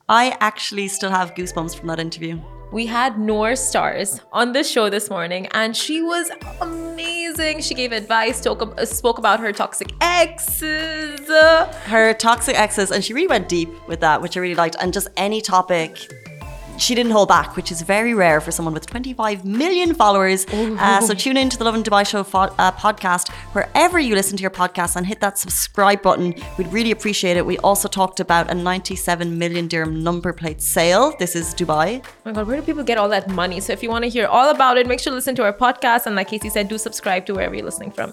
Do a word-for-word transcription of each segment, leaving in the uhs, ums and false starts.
I actually still have goosebumps from that interview. We had Noor Stars on the show this morning and she was amazing. She gave advice, talk, spoke about her toxic exes. Her toxic exes, and she really went deep with that, which I really liked. And just any topic, she didn't hold back, which is very rare for someone with twenty-five million followers. Uh, so tune in to the Lovin Dubai Show fo- uh, podcast, wherever you listen to your podcast, and hit that subscribe button. We'd really appreciate it. We also talked about a ninety-seven million dirham number plate sale. This is Dubai. Oh my God, where do people get all that money? So if you want to hear all about it, make sure to listen to our podcast. And like Casey said, do subscribe to wherever you're listening from.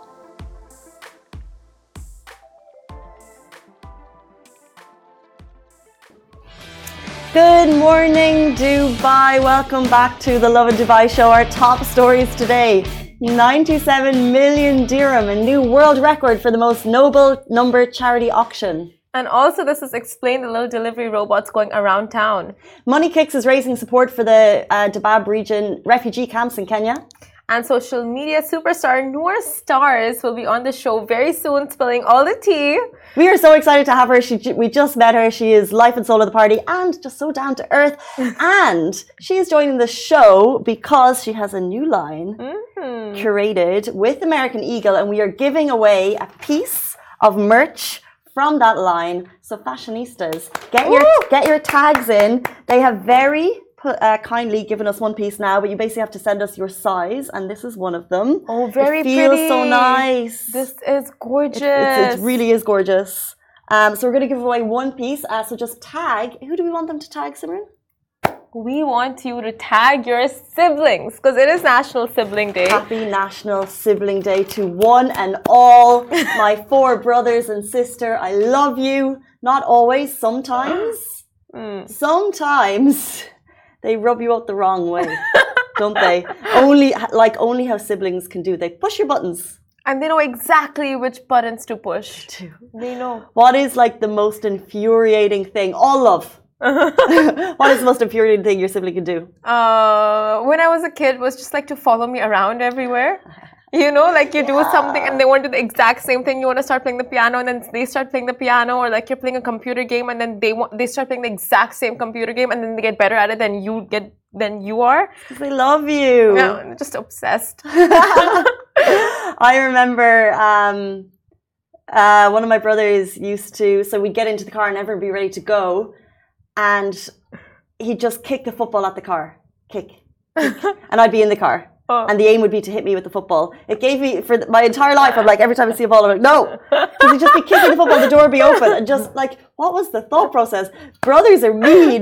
Good morning, Dubai. Welcome back to the Lovin Dubai Show. Our top stories today. ninety-seven million dirham, a new world record for the most noble number charity auction. And also, this is explained the little delivery robots going around town. Money Kicks is raising support for the uh, Dabab region refugee camps in Kenya. And social media superstar Noor Stars will be on the show very soon, spilling all the tea. We are so excited to have her. She, we just met her. She is life and soul of the party and just so down to earth. And she is joining the show because she has a new line mm-hmm. curated with American Eagle, and we are giving away a piece of merch from that line. So fashionistas, get your Ooh. get your tags in. They have very Uh, kindly given us one piece now, but you basically have to send us your size, and this is one of them. Oh, very it feels pretty. so nice. This is gorgeous. It, it, it really is gorgeous. Um, so we're going to give away one piece. Uh, so just tag. Who do we want them to tag, Simran? We want you to tag your siblings because it is National Sibling Day. Happy National Sibling Day to one and all my four brothers and sister. I love you. Not always. Sometimes. mm. Sometimes. They rub you out the wrong way, don't they? Only like only how siblings can do. They push your buttons. And they know exactly which buttons to push. They know. What is like the most infuriating thing? All love. What is the most infuriating thing your sibling can do? Uh, when I was a kid, was just like to follow me around everywhere. You know, like you yeah. do something and they want to do the exact same thing. You want to start playing the piano and then they start playing the piano, or like you're playing a computer game and then they want they start playing the exact same computer game and then they get better at it than you get than you are. Because they love you. Yeah, just obsessed. I remember um, uh, one of my brothers used to. So we'd get into the car and everyone would be ready to go, and he'd just kick the football at the car, kick, kick. And I'd be in the car. Oh. And the aim would be to hit me with the football. It gave me, for my entire life, I'm like, every time I see a ball, I'm like, no. Because he'd just be kicking the football, the door would be open. And just like, what was the thought process? Brothers are mean.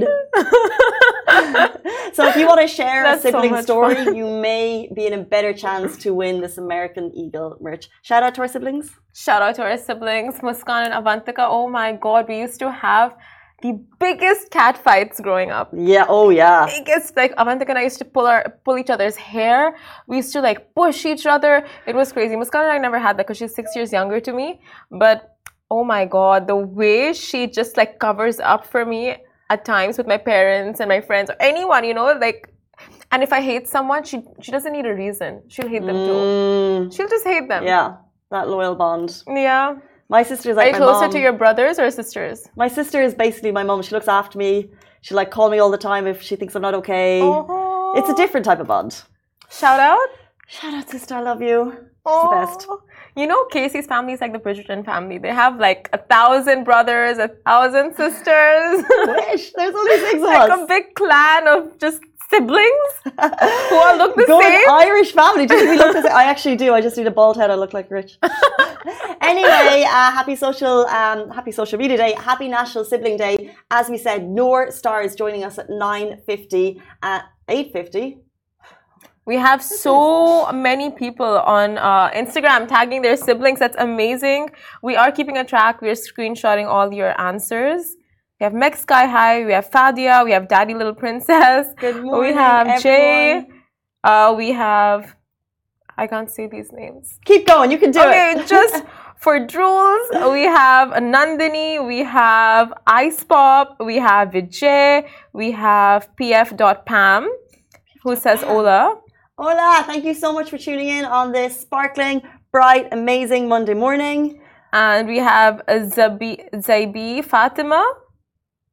So if you want to share That's a sibling so story, fun. You may be in a better chance to win this American Eagle merch. Shout out to our siblings. Shout out to our siblings, Muskan and Avantika. Oh my God, we used to have the biggest cat fights growing up. Yeah, oh yeah. Biggest, like Avantika and I used to pull our pull each other's hair. We used to like push each other. It was crazy. Muskan and I never had that because she's six years younger to me. But oh my God, the way she just like covers up for me at times with my parents and my friends or anyone, you know, like. And if I hate someone, she she doesn't need a reason. She'll hate them too. Mm. She'll just hate them. Yeah, that loyal bond. Yeah. My sister is like Are you my closer mom. to your brothers or sisters? My sister is basically my mom. She looks after me. She like call me all the time if she thinks I'm not okay. Oh. It's a different type of bond. Shout out. Shout out, sister. I love you. She's oh. the best. You know, Casey's family is like the Bridgerton family. They have like a thousand brothers, a thousand sisters. Wish. There's only six of like us. a big clan of just siblings who all look the Good same. Irish family. Do we look the same? I actually do. I just need a bald head. I look like Rich. Anyway, uh, happy social, um, happy social media day. Happy National Sibling Day. As we said, Noor Star is joining us at nine fifty, at eight fifty. We have so many people on uh, Instagram tagging their siblings. That's amazing. We are keeping a track. We're screenshotting all your answers. We have Meg Sky High. We have Fadia. We have Daddy Little Princess. Good morning, We have everyone. Jay. Uh, we have... I can't say these names. Keep going. You can do okay, it. Okay, just for Drools, we have Nandini. We have Ice Pop. We have Vijay. We have P F dot Pam, who says Ola. Hola, thank you so much for tuning in on this sparkling, bright, amazing Monday morning. And we have Zabi, Zaibi Fatima.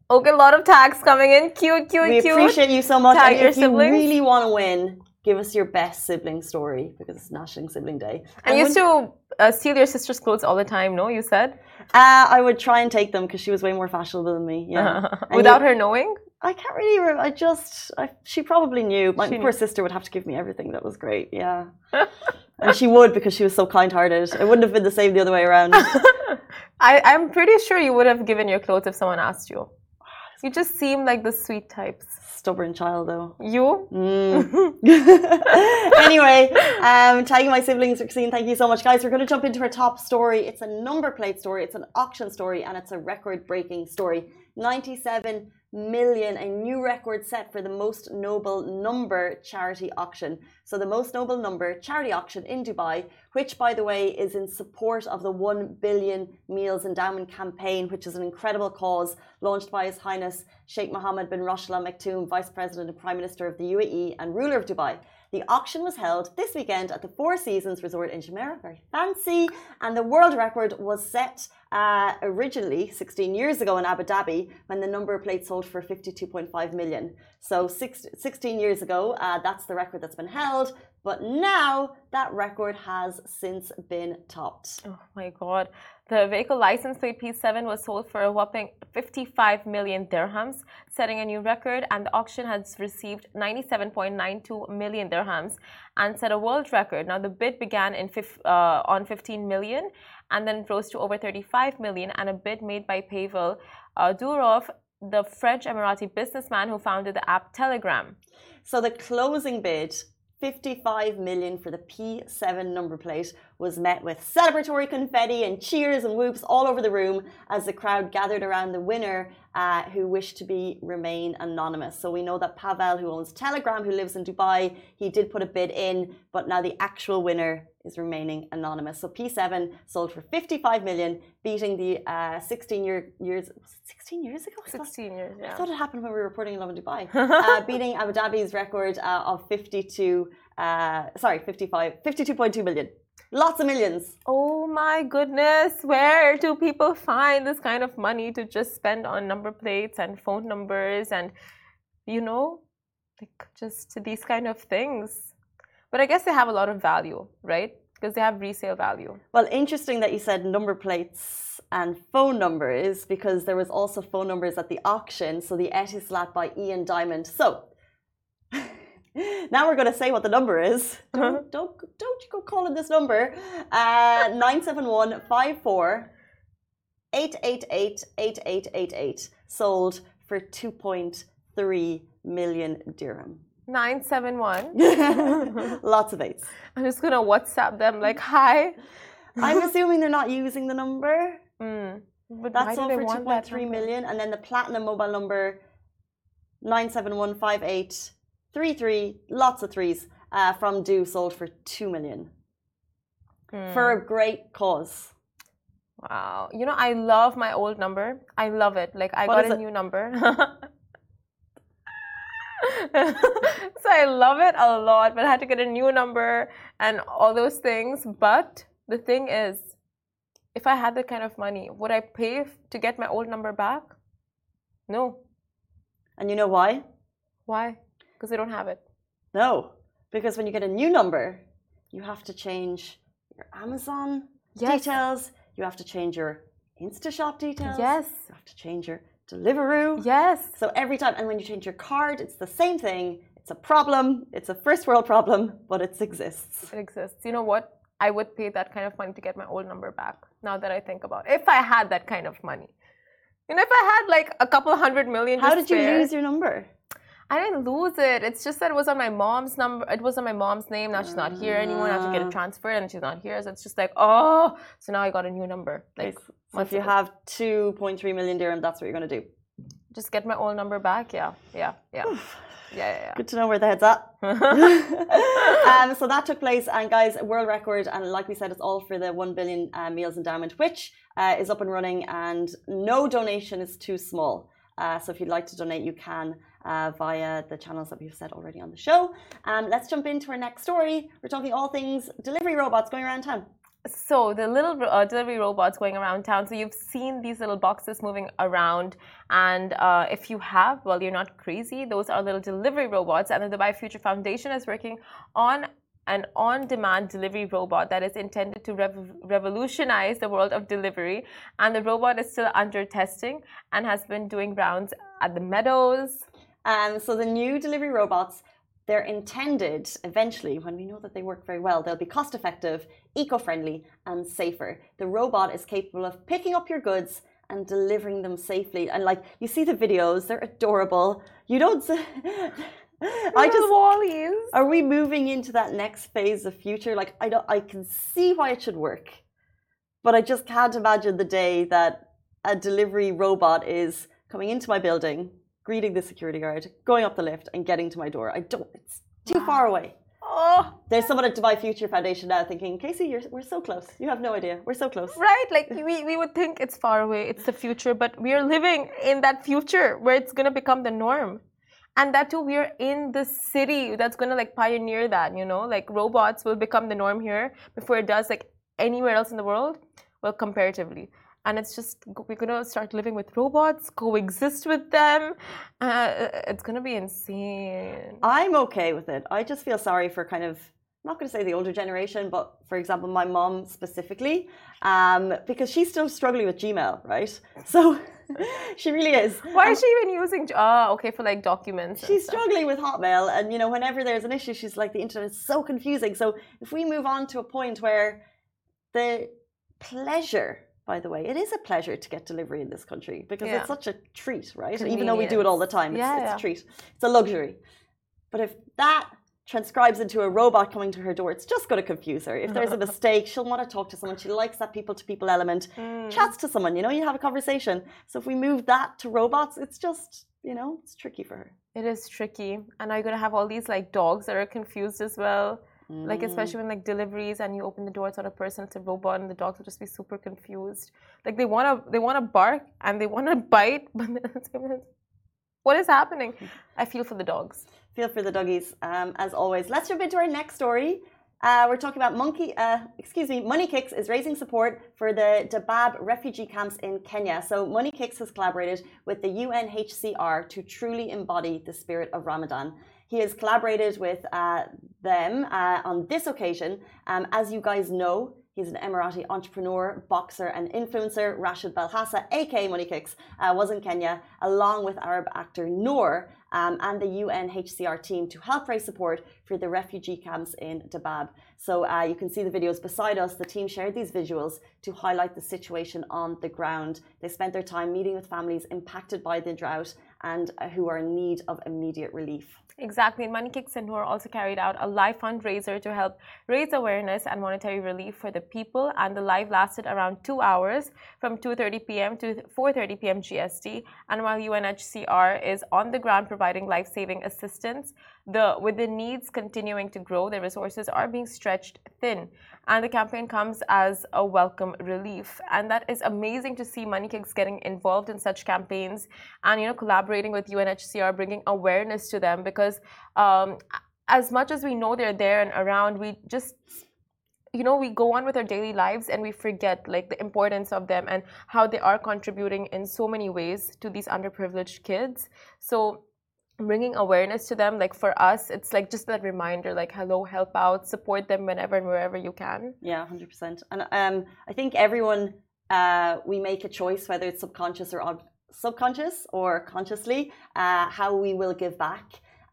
Okay, a lot of tags coming in. Cute, cute, we cute. We appreciate you so much. Tag and your if siblings. you really want to win, give us your best sibling story because it's National Sibling Day. And you used to uh, steal your sister's clothes all the time, no? You said? Uh, I would try and take them because she was way more fashionable than me. Yeah. Without you, her knowing? I can't really remember. I just, I, she probably knew. My she poor knew. sister would have to give me everything. That was great. Yeah. And she would because she was so kind-hearted. It wouldn't have been the same the other way around. I, I'm pretty sure you would have given your clothes if someone asked you. You just seem like the sweet types. Stubborn child, though. You? Mm. Anyway, um, tagging my siblings, Roxine, thank you so much. Guys, we're going to jump into our top story. It's a number plate story, it's an auction story, and it's a record-breaking story. ninety-seven million, a new record set for the Most Noble Number charity auction. So the Most Noble Number charity auction in Dubai, which, by the way, is in support of the one billion Meals Endowment Campaign, which is an incredible cause launched by His Highness Sheikh Mohammed bin Rashid Al Maktoum, Vice President and Prime Minister of the U A E and ruler of Dubai. The auction was held this weekend at the Four Seasons Resort in Jumeirah, very fancy, and the world record was set uh, originally sixteen years ago in Abu Dhabi when the number plate sold for fifty-two point five million. So six, sixteen years ago, uh, that's the record that's been held, but now that record has since been topped. Oh my God. The vehicle license plate P seven was sold for a whopping fifty-five million dirhams, setting a new record, and the auction has received ninety-seven point nine two million dirhams and set a world record. Now, the bid began in uh, on fifteen million and then rose to over thirty-five million, and a bid made by Pavel uh, Durov, the French Emirati businessman who founded the app Telegram. So the closing bid, fifty-five million for the P seven number plate, was met with celebratory confetti and cheers and whoops all over the room as the crowd gathered around the winner uh, who wished to be remain anonymous. So we know that Pavel, who owns Telegram, who lives in Dubai, he did put a bid in, but now the actual winner is remaining anonymous. So P seven sold for fifty-five million, beating the uh, sixteen year, years, sixteen years ago? sixteen years, yeah. I thought it happened when we were reporting in Love in Dubai. uh, beating Abu Dhabi's record uh, of fifty-two, uh, sorry, fifty-five, fifty-two point two million. Lots of millions. Oh my goodness. Where do people find this kind of money to just spend on number plates and phone numbers and, you know, like just these kind of things? But I guess they have a lot of value, right? Because they have resale value. Well, interesting that you said number plates and phone numbers, because there was also phone numbers at the auction. So the Etisalat by Ian Diamond. So now we're going to say what the number is. Don't don't, don't you go calling this number. Uh, nine seven one, five four, eight eight eight, eight eight eight eight. Sold for two point three million dirham. nine seven one. Lots of eights. I'm just going to WhatsApp them like, hi. I'm assuming they're not using the number. Mm. But That's why do all they for want two point that three number? million. And then the platinum mobile number, nine seven one five eight three three, lots of threes, uh, from Do sold for two million. Mm. For a great cause. Wow. You know, I love my old number. I love it. Like, I What got is a it? new number. So I love it a lot, but I had to get a new number and all those things. But the thing is, if I had that kind of money, would I pay to get my old number back? No. And you know why? Why? Because I don't have it. No. Because when you get a new number, you have to change your Amazon Yes. details. You have to change your InstaShop details. Yes. You have to change your Deliveroo. Yes. So every time, and when you change your card, it's the same thing. It's a problem. It's a first world problem, but it exists. It exists. You know what? I would pay that kind of money to get my old number back. Now that I think about it, if I had that kind of money, you know, if I had like a couple hundred million. How just did you spare, lose your number? I didn't lose it. It's just that it was on my mom's number. It was on my mom's name. Now she's not here anymore. I have to get it transferred, and she's not here. So it's just like, oh. So now I got a new number. Like, Okay, so if you have two point three million dirham, that's what you're going to do. just get my old number back. Yeah, yeah, yeah, yeah, yeah. yeah. Good to know where the head's at. um, so that took place, and guys, a world record, and like we said, it's all for the one billion uh, Meals Endowment, which uh, is up and running, and no donation is too small. Uh, so if you'd like to donate, you can uh, via the channels that we've said already on the show. Um, let's jump into our next story. We're talking all things delivery robots going around town. So the little uh, delivery robots going around town. So you've seen these little boxes moving around, and uh, if you have, well, you're not crazy. Those are little delivery robots, and the Dubai Future Foundation is working on an on-demand delivery robot that is intended to rev- revolutionize the world of delivery. And the robot is still under testing and has been doing rounds at the meadows. Um, so the new delivery robots, they're intended eventually, when we know that they work very well, they'll be cost effective, eco-friendly and safer. The robot is capable of picking up your goods and delivering them safely. And like, you see the videos, they're adorable. You don't... I just Wallies. Are we moving into that next phase of future? Like, I don't, I can see why it should work, but I just can't imagine the day that a delivery robot is coming into my building, greeting the security guard, going up the lift, and getting to my door. I don't. It's too far away. Oh, there's someone at Dubai Future Foundation now thinking, Casey, you're, we're so close. You have no idea. We're so close. Right? Like we, we would think it's far away. It's the future, but we are living in that future where it's gonna become the norm. And that too, we're in the city that's going to like pioneer that, you know, like robots will become the norm here before it does like anywhere else in the world. Well, comparatively. And it's just, we're going to start living with robots, coexist with them. Uh, it's going to be insane. I'm okay with it. I just feel sorry for kind of, I'm not going to say the older generation, but for example, my mom specifically, um, because she's still struggling with Gmail, right? So she really is. Why um, is she even using? Oh, okay, for like documents. She's struggling with Hotmail, and you know, whenever there's an issue, she's like, the internet is so confusing. So if we move on to a point where the pleasure, by the way, it is a pleasure to get delivery in this country because yeah. it's such a treat, right? Even though we do it all the time, it's, yeah, it's yeah. a treat. It's a luxury. But if that transcribes into a robot coming to her door, it's just going to confuse her. If there's a mistake, she'll want to talk to someone. She likes that people-to-people element. Mm. Chats to someone, you know, you have a conversation. So if we move that to robots, it's just, you know, it's tricky for her. It is tricky. And now you're going to have all these like dogs that are confused as well. Mm. Like especially when like deliveries and you open the door, it's not a person, it's a robot, and the dogs will just be super confused. Like they want to they want to bark and they want to bite, but what is happening? I feel for the dogs. Feel for the doggies, um, as always. Let's jump into our next story. Uh, we're talking about Monkey, uh, excuse me, MoneyKicks is raising support for the Dadaab refugee camps in Kenya. So MoneyKicks has collaborated with the U N H C R to truly embody the spirit of Ramadan. He has collaborated with uh, them uh, on this occasion. Um, as you guys know, he's an Emirati entrepreneur, boxer, and influencer. Rashid Belhassa, aka MoneyKicks, uh, was in Kenya along with Arab actor Noor um, and the U N H C R team to help raise support for the refugee camps in Dadaab. So uh, you can see the videos beside us. The team shared these visuals to highlight the situation on the ground. They spent their time meeting with families impacted by the drought and uh, who are in need of immediate relief. Exactly. And MoneyKicks and Noor also carried out a live fundraiser to help raise awareness and monetary relief for the people. And the live lasted around two hours from two thirty p m to four thirty p m G S T. And while U N H C R is on the ground providing life-saving assistance, the with the needs continuing to grow, the resources are being stretched thin. And the campaign comes as a welcome relief. And that is amazing to see MoneyKicks getting involved in such campaigns and, you know, collaborating with U N H C R, bringing awareness to them, because um, as much as we know they're there and around, we just, you know, we go on with our daily lives and we forget like the importance of them and how they are contributing in so many ways to these underprivileged kids. So bringing awareness to them, like for us, it's like just that reminder, like, hello, help out, support them whenever and wherever you can. Yeah, one hundred percent. And um, I think everyone, uh, we make a choice, whether it's subconscious or subconscious or consciously, uh, how we will give back.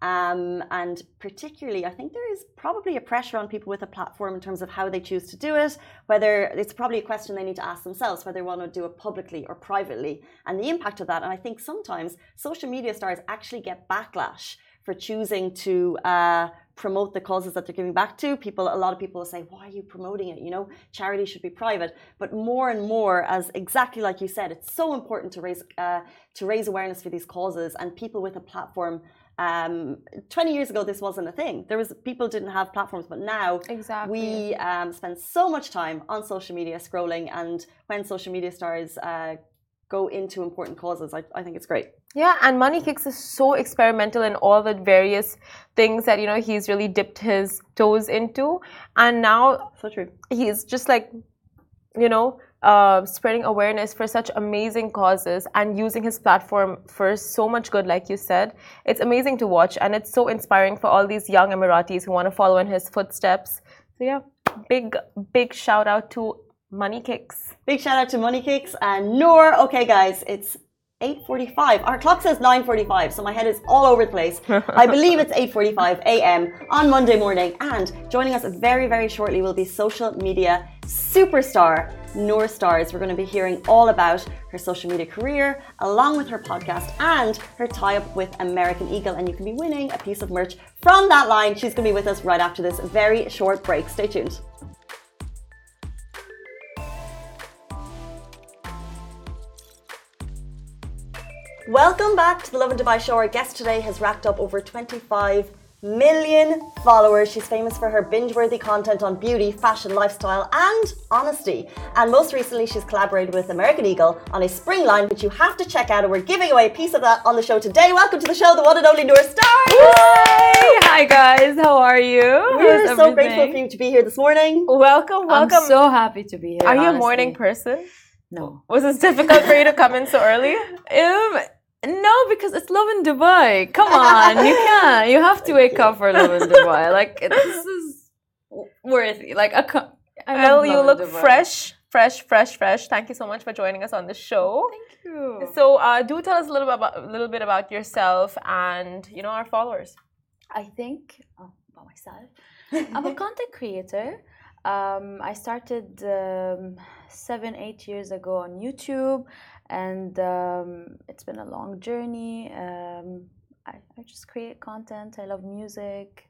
Um, and particularly, I think there is probably a pressure on people with a platform in terms of how they choose to do it, whether it's probably a question they need to ask themselves, whether they want to do it publicly or privately, and the impact of that. And I think sometimes social media stars actually get backlash for choosing to uh, promote the causes that they're giving back to. People, a lot of people will say, why are you promoting it? You know, charity should be private. But more and more, as exactly like you said, it's so important to raise, uh, to raise awareness for these causes, and people with a platform. Um, twenty years ago, this wasn't a thing. There was people didn't have platforms, but now exactly. we um, spend so much time on social media scrolling. And when social media stars uh, go into important causes. I, I think it's great. Yeah, and Money Kicks is so experimental in all the various things that, you know, he's really dipped his toes into. And now so true. He's just like, you know, uh, spreading awareness for such amazing causes and using his platform for so much good, like you said. It's amazing to watch, and it's so inspiring for all these young Emiratis who want to follow in his footsteps. So yeah, big, big shout out to Money Kicks. Big shout out to Money Kicks and Noor. Okay, guys, it's eight forty-five. Our clock says nine forty-five, so my head is all over the place. I believe it's eight forty-five a m on Monday morning. And joining us very, very shortly will be social media superstar Noor Stars. We're going to be hearing all about her social media career, along with her podcast and her tie-up with American Eagle. And you can be winning a piece of merch from that line. She's going to be with us right after this very short break. Stay tuned. Welcome back to the Lovin Dubai show. Our guest today has racked up over twenty-five million followers. She's famous for her binge-worthy content on beauty, fashion, lifestyle and honesty. And most recently, she's collaborated with American Eagle on a spring line, which you have to check out. And we're giving away a piece of that on the show today. Welcome to the show, the one and only Noor Stars. Hi, hi guys. How are you? We're so grateful for you to be here this morning. Welcome, welcome. I'm so happy to be here. Are you honestly. a morning person? No. Was it difficult for you to come in so early? Um, no, because it's Lovin Dubai. Come on, you can't. You have to wake up for Lovin Dubai. Like this is worthy. Like a. Co- well, you look Dubai. fresh, fresh, fresh, fresh. Thank you so much for joining us on the show. Thank you. So, uh, do tell us a little bit about a little bit about yourself and you know our followers. I think oh, about myself. I'm a content creator. Um, I started um, seven, eight years ago on YouTube, and um, it's been a long journey. Um, I, I just create content. I love music,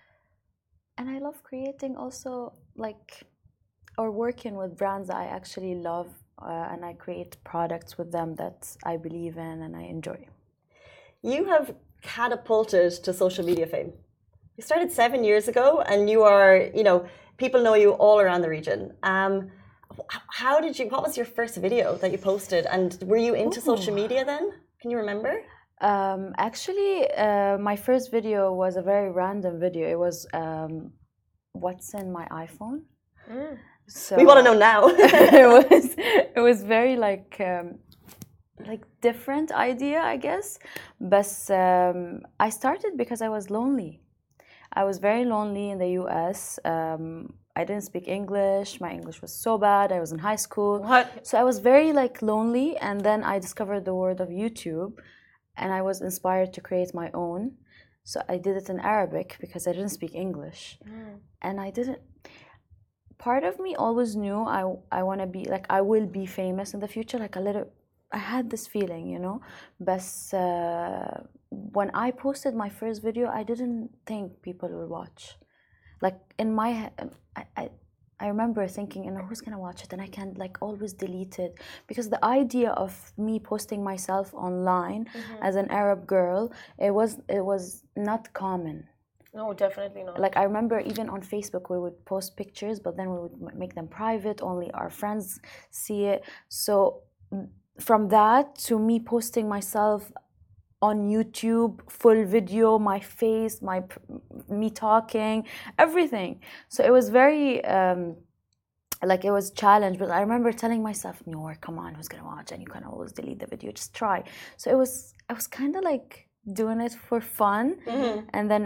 and I love creating also, like, or working with brands that I actually love, uh, and I create products with them that I believe in and I enjoy. You have catapulted to social media fame. You started seven years ago, and you are, you know, people know you all around the region. Um, how did you, what was your first video that you posted? And were you into Ooh. social media then? Can you remember? Um, actually, uh, my first video was a very random video. It was um, what's in my iPhone. Mm. So we want to know now. it was it was very like um, like different idea, I guess. But um, I started because I was lonely. I was very lonely in the U S. Um, I didn't speak English. My English was so bad. I was in high school. What? So I was very like lonely, and then I discovered the world of YouTube, and I was inspired to create my own. So I did it in Arabic because I didn't speak English, mm. and I didn't. Part of me always knew I I want to be like I will be famous in the future. Like a little, I had this feeling, you know, but. Uh, When I posted my first video, I didn't think people would watch. Like in my head, I, I, I remember thinking, you know, who's gonna watch it? And I can't like always delete it because the idea of me posting myself online mm-hmm. as an Arab girl, it was it was not common. No, definitely not. Like I remember even on Facebook, we would post pictures, but then we would make them private. Only our friends see it. So from that to me posting myself on YouTube, full video, my face, my me talking, everything. So it was very, um, like it was challenge. But I remember telling myself, "Noor, come on, who's gonna watch?" And you can always delete the video, just try. So it was, I was kind of like doing it for fun, mm-hmm. and then.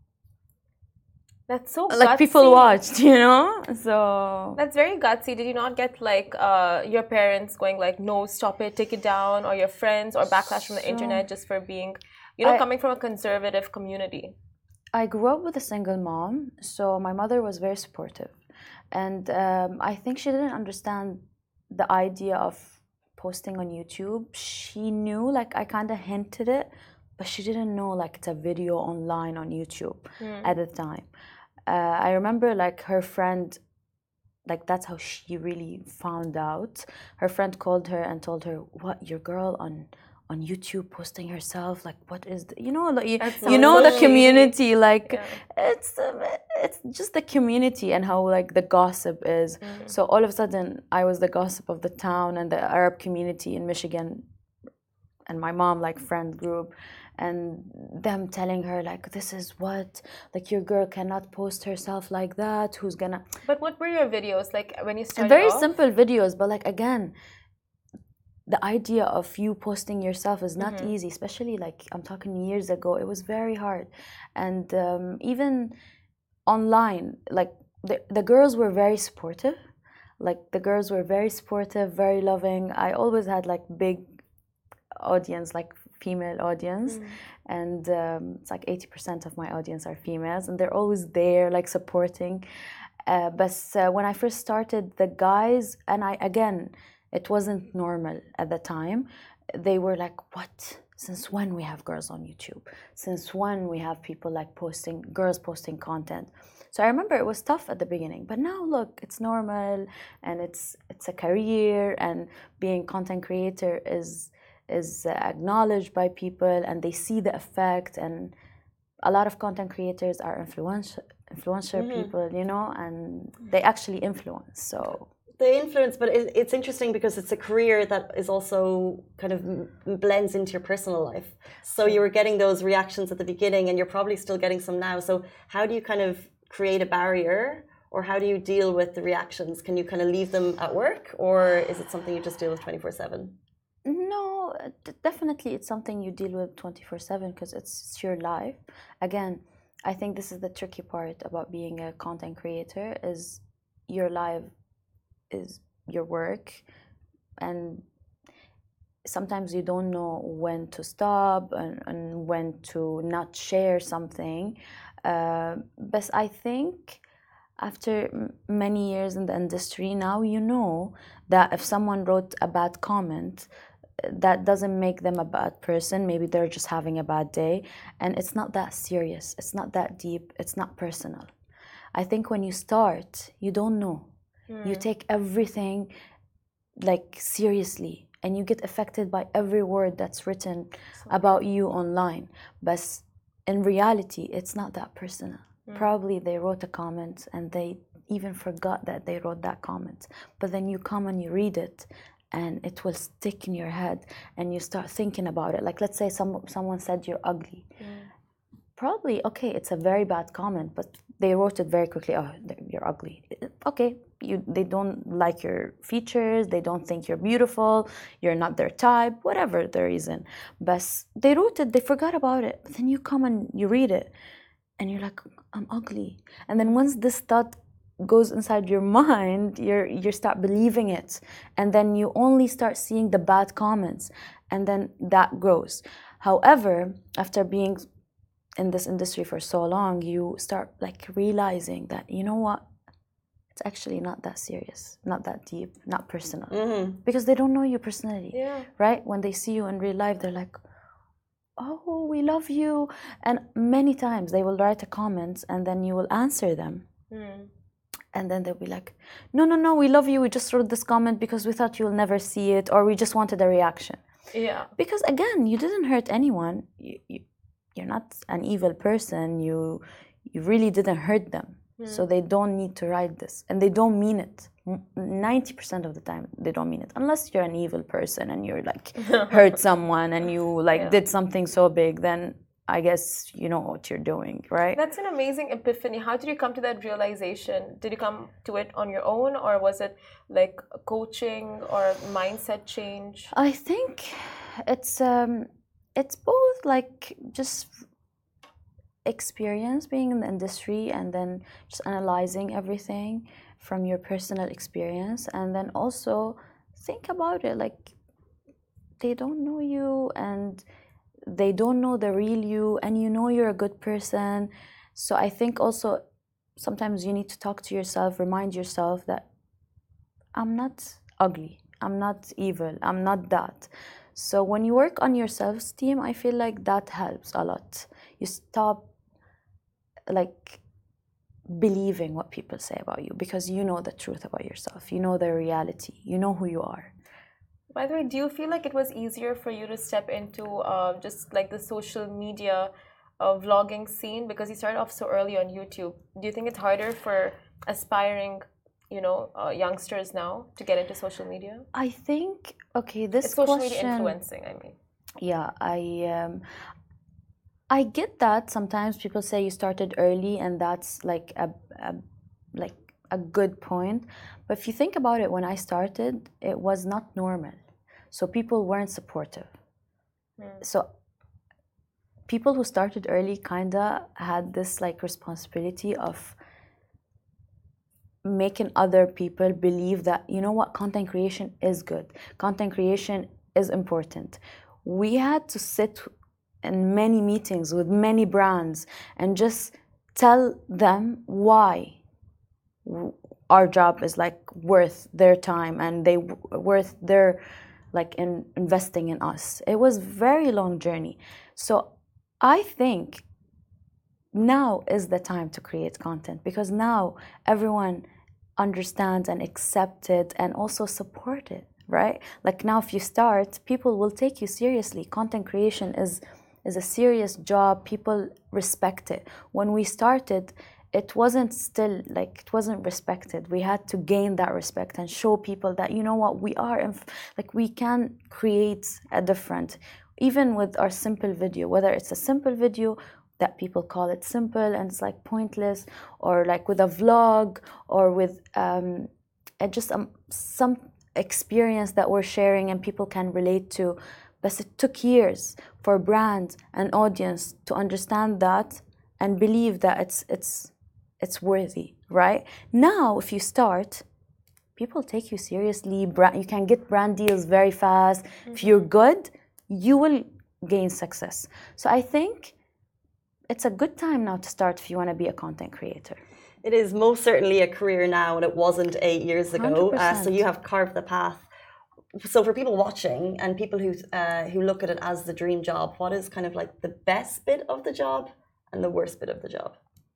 That's so like gutsy. People watched, you know. So that's very gutsy. Did you not get like uh, your parents going like, "No, stop it, take it down," or your friends, or backlash from the so, internet just for being, you know, I, coming from a conservative community? I grew up with a single mom, so my mother was very supportive, and um, I think she didn't understand the idea of posting on YouTube. She knew, like I kind of hinted it, but she didn't know like it's a video online on YouTube mm. at the time. Uh, I remember like her friend, like that's how she really found out. Her friend called her and told her, "What, your girl on on YouTube posting herself, like what is the, you know, like, you, That's you so know the pushy. community, like Yeah. it's um, it's just the community and how like the gossip is. So all of a sudden I was the gossip of the town and the Arab community in Michigan, and my mom like friend group, and them telling her like, this is what, like your girl cannot post herself like that, who's gonna. But what were your videos like when you started Very off? simple videos, but like again, the idea of you posting yourself is not Mm-hmm. easy, especially like I'm talking years ago. It was very hard, and um, even online, like the, the girls were very supportive. Like the girls were very supportive, very loving. I always had like big audience, like female audience, Mm. and um, it's like eighty percent of my audience are females, and they're always there like supporting. Uh, but uh, when I first started, the guys, and I again, it wasn't normal at the time. They were like, what? Since when we have girls on YouTube? Since when we have people like posting, girls posting content? So I remember it was tough at the beginning, but now look, it's normal, and it's it's a career, and being content creator is is acknowledged by people, and they see the effect. And a lot of content creators are influential influencer Mm-hmm. people, you know, and they actually influence. So They influence, but it, it's interesting because it's a career that is also kind of m- blends into your personal life. So you were getting those reactions at the beginning, and you're probably still getting some now. So how do you kind of create a barrier, or how do you deal with the reactions? Can you kind of leave them at work, or is it something you just deal with twenty-four seven? no, d- definitely it's something you deal with twenty-four seven because it's, it's your life. Again, I think this is the tricky part about being a content creator, is your life is your work, and sometimes you don't know when to stop, and, and when to not share something. Uh, but I think after m- many years in the industry, now you know that if someone wrote a bad comment, that doesn't make them a bad person. Maybe they're just having a bad day, and it's not that serious, it's not that deep, it's not personal. I think when you start, you don't know. You take everything like seriously, and you get affected by every word that's written about you online. But in reality, it's not that personal. Probably they wrote a comment and they even forgot that they wrote that comment. But then you come and you read it, and it will stick in your head, and you start thinking about it. Like, let's say some someone said you're ugly. Probably, okay, it's a very bad comment, but they wrote it very quickly. Oh, you're ugly. Okay, you they don't like your features, they don't think you're beautiful, you're not their type, whatever the reason. But they wrote it, they forgot about it. But then you come and you read it, and you're like, I'm ugly. And then once this thought goes inside your mind, you're you start believing it, and then you only start seeing the bad comments, and then that grows. However, after being in this industry for so long, you start like realizing that, you know what, it's actually not that serious, not that deep, not personal. Mm-hmm. Because they don't know you personally. Yeah. Right? When they see you in real life, they're like, oh, we love you. And many times they will write a comment, and then you will answer them. Mm. And then they'll be like, no, no, no, we love you, we just wrote this comment because we thought you'll never see it, or we just wanted a reaction. Yeah. Because again, you didn't hurt anyone. You, you, you're not an evil person. You you really didn't hurt them. So they don't need to write this, and they don't mean it. ninety percent of the time they don't mean it, unless you're an evil person and you're like hurt someone and you like Yeah. did something so big, then I guess you know what you're doing, right? That's an amazing epiphany. How did you come to that realization? Did you come to it on your own, or was it like coaching or mindset change? I think it's um it's both, like just experience being in the industry, and then just analyzing everything from your personal experience, and then also think about it, like they don't know you, and they don't know the real you, and you know you're a good person. So I think also sometimes you need to talk to yourself, remind yourself that I'm not ugly, I'm not evil, I'm not that. So when you work on your self-esteem, I feel like that helps a lot. You stop like believing what people say about you, because you know the truth about yourself, you know the reality, you know who you are. By the way, do you feel like it was easier for you to step into uh, just like the social media uh, vlogging scene because you started off so early on YouTube? Do you think it's harder for aspiring, you know, uh, youngsters now to get into social media? I think, okay, this It's social question, media influencing, I mean. Yeah, I um, I get that sometimes people say you started early and that's like a, a like a good point. But if you think about it, when I started, it was not normal. So people weren't supportive. Mm. So people who started early kinda had this like responsibility of making other people believe that, you know what, content creation is good. Content creation is important. We had to sit in many meetings with many brands and just tell them why our job is like worth their time and they worth their like in investing in us. It was very long journey. So I think now is the time to create content because now everyone understands and accepts it and also support it, right? Like now if you start, people will take you seriously. Content creation is is a serious job. People respect it. When we started, it wasn't still like it wasn't respected. We had to gain that respect and show people that, you know what, we are inf- like we can create a different, even with our simple video, whether it's a simple video that people call it simple and it's like pointless, or like with a vlog, or with um, just um, some experience that we're sharing and people can relate to. But it took years for brands and audience to understand that and believe that it's it's it's worthy, right? Now, if you start, people take you seriously. Brand, you can get brand deals very fast. Mm-hmm. If you're good, you will gain success. So I think it's a good time now to start if you want to be a content creator. It is most certainly a career now, and it wasn't eight years ago. Uh, so you have carved the path. So for people watching and people who uh, who look at it as the dream job, what is kind of like the best bit of the job and the worst bit of the job?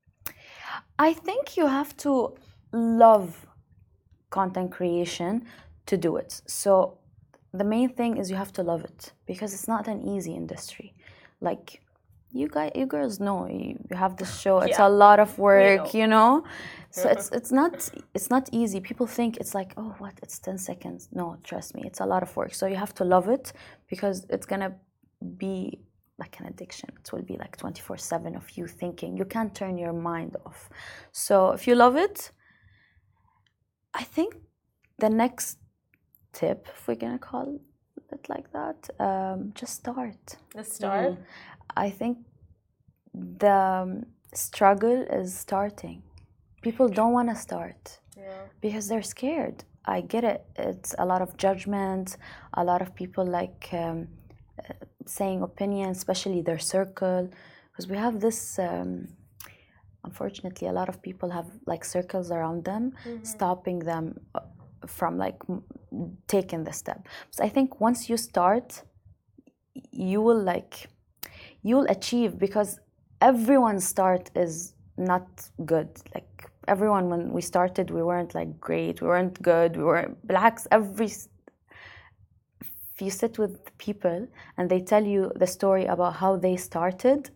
I think you have to love content creation to do it. So the main thing is you have to love it because it's not an easy industry. Like you guys, you girls know you, you have this show. It's yeah. a lot of work, know. you know. So it's it's not it's not easy. People think it's like, oh, what? It's ten seconds. No, trust me, it's a lot of work. So you have to love it because it's gonna be like an addiction. It will be like twenty-four seven of you thinking. You can't turn your mind off. So if you love it, I think the next tip, if we're gonna call it like that, um, just start. Just start. Mm. I think the struggle is starting. People don't want to start yeah. because they're scared. I get it. It's a lot of judgment, a lot of people like um, uh, saying opinions, especially their circle. Because we have this, um, unfortunately, a lot of people have like circles around them, mm-hmm. stopping them from like taking the step. So I think once you start, you will like, you'll achieve because everyone's start is not good. Like everyone, when we started, we weren't like great, we weren't good, we weren't blacks. Every, if you sit with people and they tell you the story about how they started,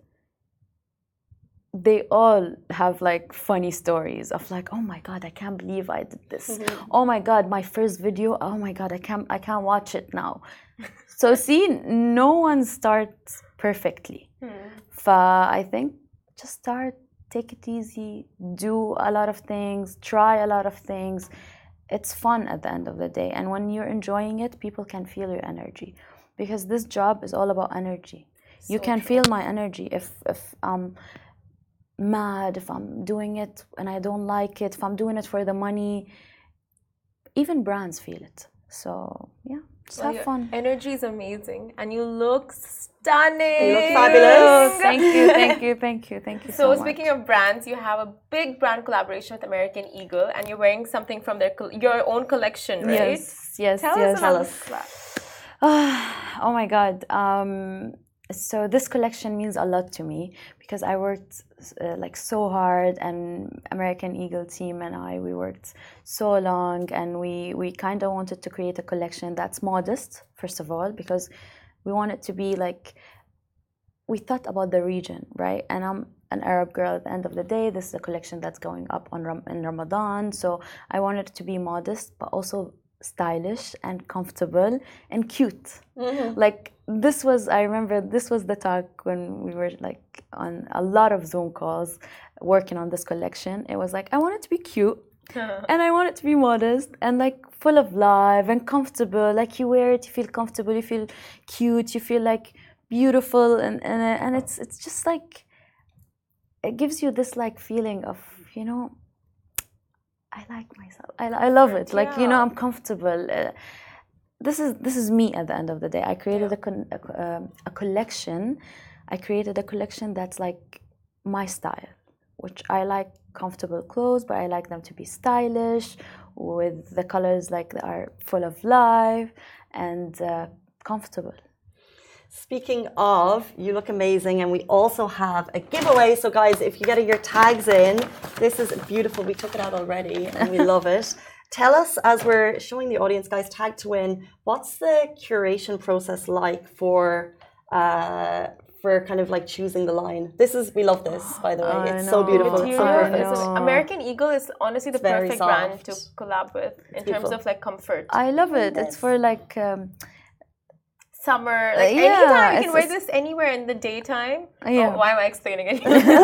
they all have like funny stories of like, oh my God, I can't believe I did this. Mm-hmm. Oh my God, my first video, oh my God, I can't, I can't watch it now. So see, no one starts perfectly. Hmm. I think just start, take it easy, do a lot of things, try a lot of things. It's fun at the end of the day. And when you're enjoying it, people can feel your energy because this job is all about energy. So you can true. feel my energy if, if I'm mad, if I'm doing it and I don't like it, if I'm doing it for the money. Even brands feel it. So yeah. Just well, have fun. Energy is amazing, and you look stunning. You look fabulous. Thank you, thank you, thank you, thank you. So, so speaking much. of brands, you have a big brand collaboration with American Eagle, and you're wearing something from their your own collection, right? Yes, yes, Tell yes. us about Tell us. Oh my God. Um, so this collection means a lot to me because I worked uh, like so hard, and American Eagle team and I, we worked so long, and we we kind of wanted to create a collection that's modest, first of all, because we want it to be like, we thought about the region, right? And I'm an Arab girl at the end of the day. This is a collection that's going up on Ram- in Ramadan, so I wanted it to be modest but also stylish and comfortable and cute. Mm-hmm. Like this was, I remember this was the talk when we were like on a lot of Zoom calls working on this collection. It was like, I want it to be cute and I want it to be modest and like full of life and comfortable. Like you wear it, you feel comfortable, you feel cute, you feel like beautiful, and and, and it's it's just like, it gives you this like feeling of, you know, I like myself. I, I love it. Like, yeah. You know, I'm comfortable. Uh, this is this is me at the end of the day. I created yeah. a, con- a, um, a collection. I created a collection that's like my style, which I like comfortable clothes, but I like them to be stylish, with the colors like that are full of life and uh, comfortable. Speaking of, you look amazing, and we also have a giveaway. So guys, if you get your tags in, this is beautiful. We took it out already and we love it. Tell us, as we're showing the audience, guys, tag to win, what's the curation process like for uh, for kind of like choosing the line? This is, we love this, by the way. I it's know. so beautiful. It's so perfect. American Eagle is honestly the it's perfect brand to collab with in it's terms beautiful. Of like comfort. I love it. Yes. It's for like um, summer, like uh, yeah, anytime you can wear this anywhere in the daytime. Yeah. Oh, why am I explaining it?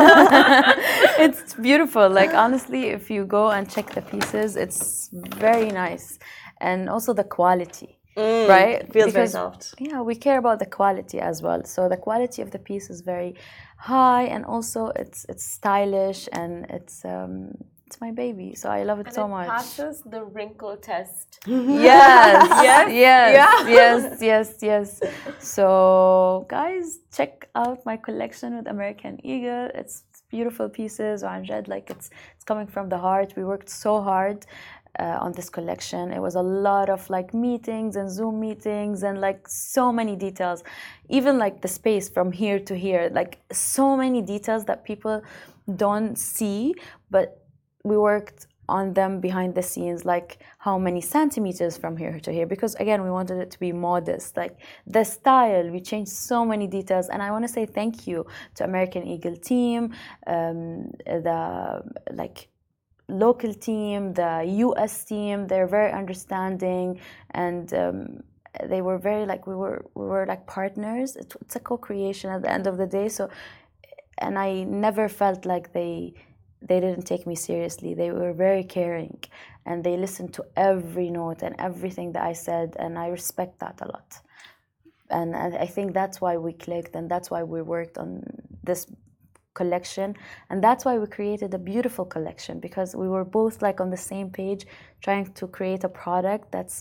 It's beautiful. Like honestly, if you go and check the pieces, it's very nice, and also the quality, mm, right? It feels because, very soft. Yeah, we care about the quality as well. So the quality of the piece is very high, and also it's it's stylish, and it's um, it's my baby, so I love it and so it much. Passes the wrinkle test. Yes, yes, yes, yeah. yes, yes, yes. So, guys, check out my collection with American Eagle. It's beautiful pieces. Amjad, like it's it's coming from the heart. We worked so hard uh, on this collection. It was a lot of like meetings and Zoom meetings and like so many details. Even like the space from here to here, like so many details that people don't see, but we worked on them behind the scenes, like how many centimeters from here to here, because again, we wanted it to be modest, like the style, we changed so many details. And I want to say thank you to American Eagle team, um, the like local team, the U S team. They're very understanding, and um, they were very like, we were we were like partners. It, it's a co-creation at the end of the day. So, and I never felt like they they didn't take me seriously. They were very caring, and they listened to every note and everything that I said, and I respect that a lot. And, and I think that's why we clicked, and that's why we worked on this collection, and that's why we created a beautiful collection, because we were both like on the same page, trying to create a product that's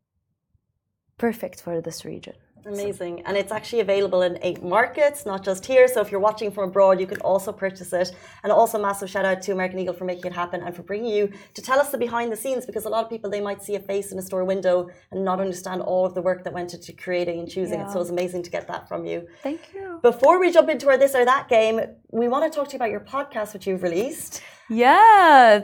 perfect for this region. Amazing. And it's actually available in eight markets, not just here. So if you're watching from abroad, you can also purchase it. And also massive shout out to American Eagle for making it happen and for bringing you to tell us the behind the scenes, because a lot of people, they might see a face in a store window and not understand all of the work that went into creating and choosing yeah. it. So it's amazing to get that from you. Thank you. Before we jump into our this or that game, we want to talk to you about your podcast, which you've released. Yes.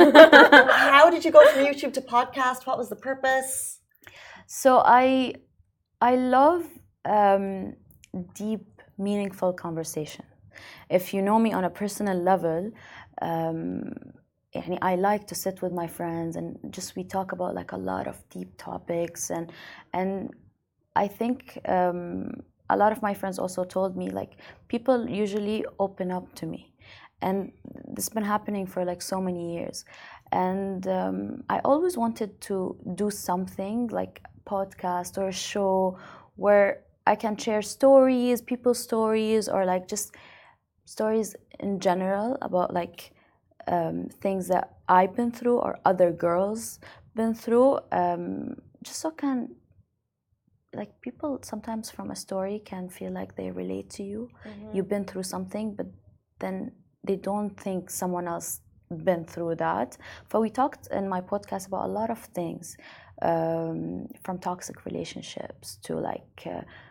How did you go from YouTube to podcast? What was the purpose? So I... I love um, deep, meaningful conversation. If you know me on a personal level, um, I like to sit with my friends and just we talk about like a lot of deep topics, and and I think um, a lot of my friends also told me like people usually open up to me, and this has been happening for like so many years, and um, I always wanted to do something like podcast or a show where I can share stories, people's stories, or like just stories in general about like um, things that I've been through or other girls been through, um, just so can like people sometimes from a story can feel like they relate to you. Mm-hmm. You've been through something, but then they don't think someone else been through that. But we talked in my podcast about a lot of things. Um, from toxic relationships to like uh,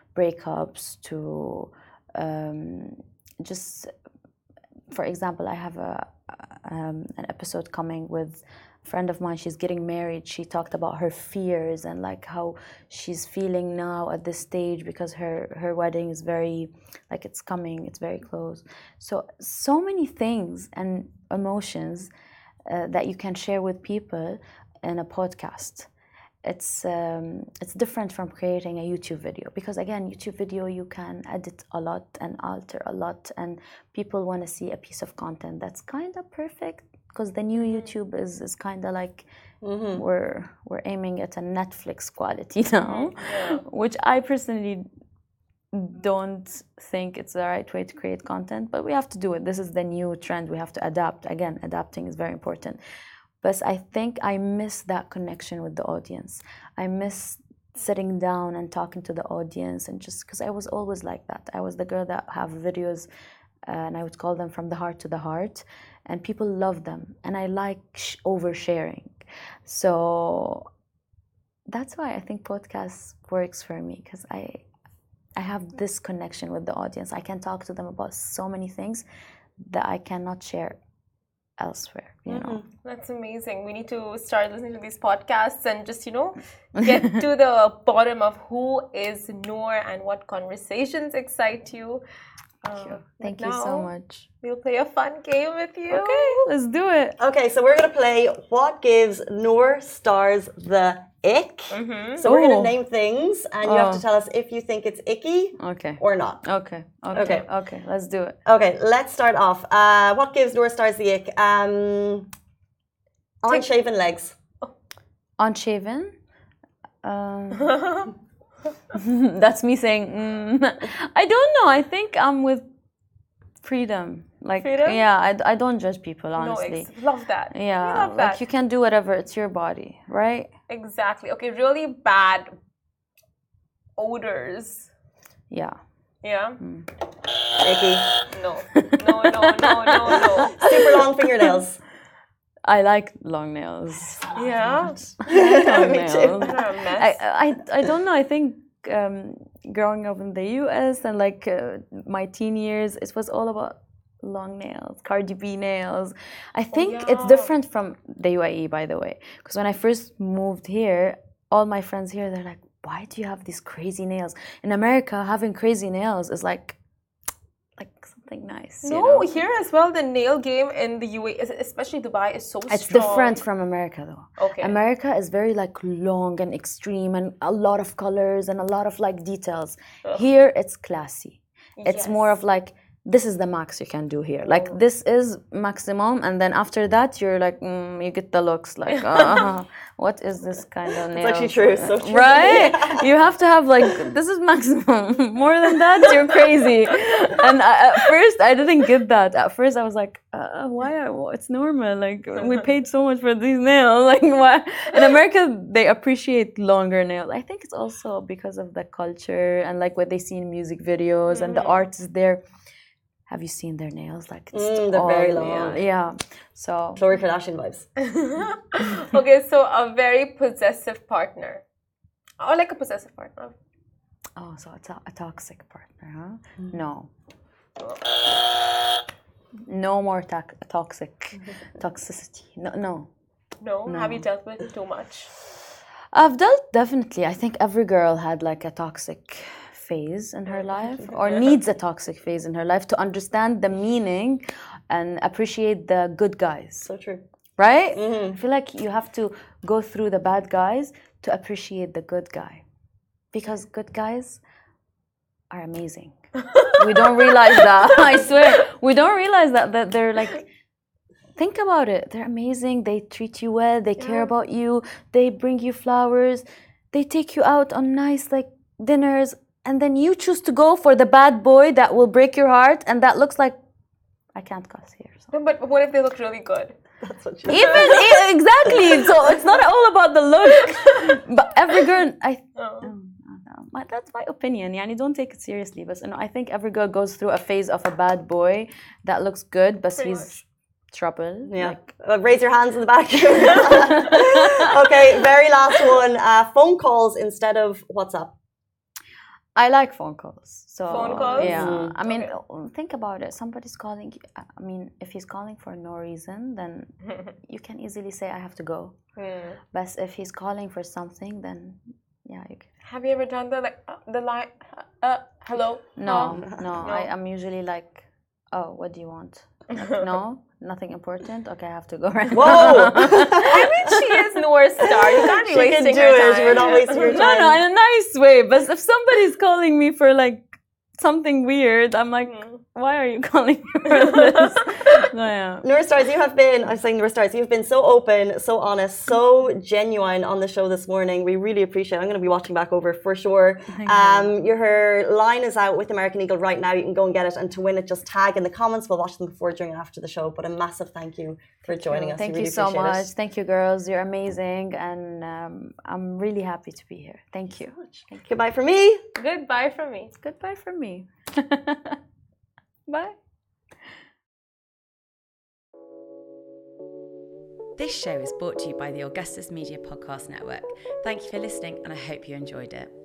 breakups to um, just, for example, I have a um, an episode coming with a friend of mine. She's getting married. She talked about her fears and like how she's feeling now at this stage because her her wedding is very, like it's coming, it's very close. So so many things and emotions uh, that you can share with people in a podcast. It's um, it's different from creating a YouTube video because again, YouTube video you can edit a lot and alter a lot, and people want to see a piece of content that's kind of perfect because the new YouTube is is kind of like mm-hmm. we're we're aiming at a Netflix quality now, yeah. which I personally don't think it's the right way to create content, but we have to do it. This is the new trend. We have to adapt. Again, adapting is very important. But I think I miss that connection with the audience. I miss sitting down and talking to the audience, and just because I was always like that. I was the girl that have videos, uh, and I would call them from the heart to the heart, and people love them, and I like sh- oversharing. So that's why I think podcasts works for me because I, I have this connection with the audience. I can talk to them about so many things that I cannot share elsewhere, you know. Mm-hmm. That's amazing. We need to start listening to these podcasts and just, you know, get to the bottom of who is Noor and what conversations excite you. Thank you, um, Thank you so much. We'll play a fun game with you. Okay, let's do it. Okay, so we're going to play What Gives Noor Stars the Ick. Mm-hmm. So we're going to name things, and you oh. have to tell us if you think it's icky okay. or not. Okay. okay, okay, okay. Let's do it. Okay, let's start off. Uh, what gives Noor Stars the ick? Um, unshaven legs. Unshaven? Um, that's me saying, mm, I don't know. I think I'm with freedom. Like, freedom? Yeah, I, I don't judge people, honestly. No, ex- love that. Yeah, love that. Like you can do whatever. It's your body, right? Exactly. Okay, really bad odors. Yeah. Yeah? Mm. Icky. No. No, no, no, no, no. Super long fingernails. I like long nails. Yeah? I like long nails. They're a mess. I, I, I don't know. I think um, growing up in the U S and like uh, my teen years, it was all about long nails, Cardi B nails. I think oh, yeah. it's different from the U A E, by the way. Because when I first moved here, all my friends here, they're like, why do you have these crazy nails? In America, having crazy nails is like, like something nice. No, you know? Here as well, the nail game in the U A E, especially Dubai, is so it's strong. Different from America, though. Okay. America is very like long and extreme and a lot of colors and a lot of like details. Ugh. Here, it's classy. It's yes. more of like, this is the max you can do here. Like, oh. this is maximum, and then after that, you're like, mm, you get the looks like, uh, what is this kind of nail? It's actually true, so true. Right? Yeah. You have to have like, this is maximum. More than that, you're crazy. And I, at first, I didn't get that. At first, I was like, uh, why? Are, it's normal. Like, we paid so much for these nails. Like, why? In America, they appreciate longer nails. I think it's also because of the culture and like what they see in music videos mm-hmm. and the art is there. Have you seen their nails? Like it's mm, they're very long. Yeah. yeah. So Khloe Kardashian vibes. Okay, so a very possessive partner, or like a possessive partner. Oh, so it's a, a toxic partner, huh? Mm. No. No more to- toxic toxicity. No, no. No. No. Have you dealt with too much? I've dealt definitely. I think every girl had like a toxic phase in her life or needs a toxic phase in her life to understand the meaning and appreciate the good guys. So true. Right? Mm-hmm. I feel like you have to go through the bad guys to appreciate the good guy. Because good guys are amazing. We don't realize that. I swear. We don't realize that, that they're like, think about it. They're amazing. They treat you well. They yeah. care about you. They bring you flowers. They take you out on nice like dinners. And then you choose to go for the bad boy that will break your heart, and that looks like I can't cuss here. So. No, but what if they look really good? That's what you even exactly. So it's not all about the look, but every girl. I. Oh. Oh, that's my opinion. Yani, don't take it seriously, but you know, I think every girl goes through a phase of a bad boy that looks good, but Pretty he's much. trouble. Yeah. Like, uh, raise your hands in the back. Okay. Very last one. Uh, phone calls instead of WhatsApp. I like phone calls. So Phone calls? Yeah. Mm. I mean, Okay. think about it. Somebody's calling you. I mean, if he's calling for no reason, then you can easily say, I have to go. Hmm. But if he's calling for something, then yeah, you can. Have you ever done the like uh, the line? Uh, uh, hello. No, Huh? no. I, I'm usually like, oh, what do you want? Like, no, nothing important. Okay, I have to go right now. Whoa! I mean, she is North Star. You can't be She can wasting do her it. time. We're not wasting your No, time. no, in a nice way. But if somebody's calling me for like something weird, I'm like, why are you calling me for this? No, yeah. Noor Stars, you have been, I'm saying Noor Stars, you've been so open, so honest, so genuine on the show this morning. We really appreciate it. I'm going to be watching back over for sure. Thank Um, your her line is out with American Eagle right now. You can go and get it. And to win it, just tag in the comments. We'll watch them before, during, and after the show. But a massive thank you for joining us. Thank we you really so appreciate much. it. Thank you, girls. You're amazing. And um, I'm really happy to be here. Thank you. Thank you. Goodbye from me. Goodbye from me. Goodbye from me. Bye. This show is brought to you by the Augustus Media Podcast Network. Thank you for listening, and I hope you enjoyed it.